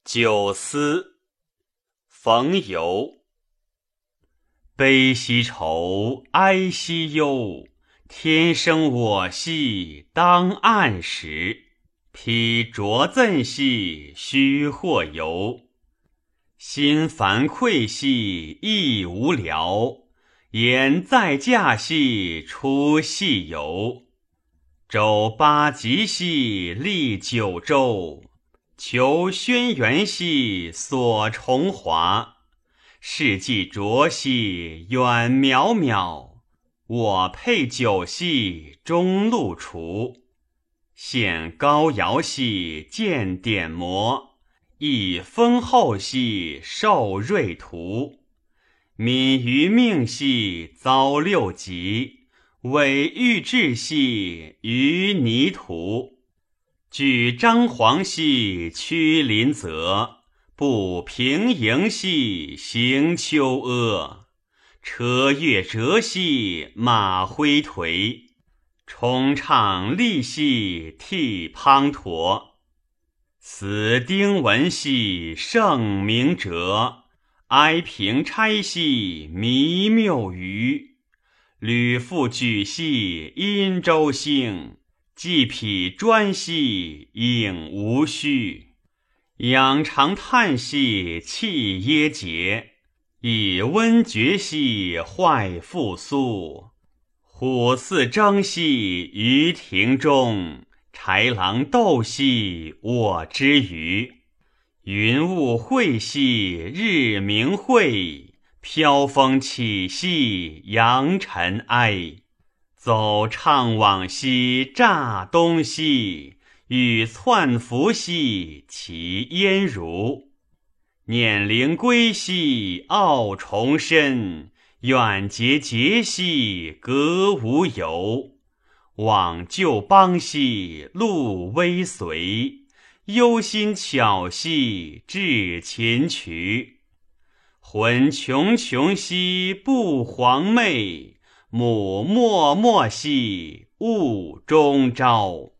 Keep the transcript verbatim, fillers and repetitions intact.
九思，冯游。悲兮愁，哀兮忧，天生我兮当暗时。披浊赠兮须或游，心烦愧兮亦无聊。言在驾兮出细游，周八极兮历九州。求轩辕兮所重华，世纪浊兮远渺渺。我佩酒兮中路除，现高尧兮见典谟。亦丰厚兮受瑞图，敏于命兮遭六极。委欲志兮于泥土，举张皇兮屈临泽。步平营兮行丘阿，车越折兮马挥颓。冲畅利兮涕滂沱，死丁文兮圣明哲。哀平差兮弥谬余，吕复举兮殷周兴。既匹专兮应无虚，仰长叹兮气耶节。以温绝兮坏复苏，虎似征兮于庭中。豺狼斗兮我之余，云雾晦兮日明晦。飘风起兮扬尘埃，走怅惘兮乍东兮。雨窜拂兮其烟如，念灵归兮傲重申。远节节兮格无由，往旧邦兮路微随。忧心巧兮至琴曲，魂穷穷兮不黄寐。母默默兮雾中朝。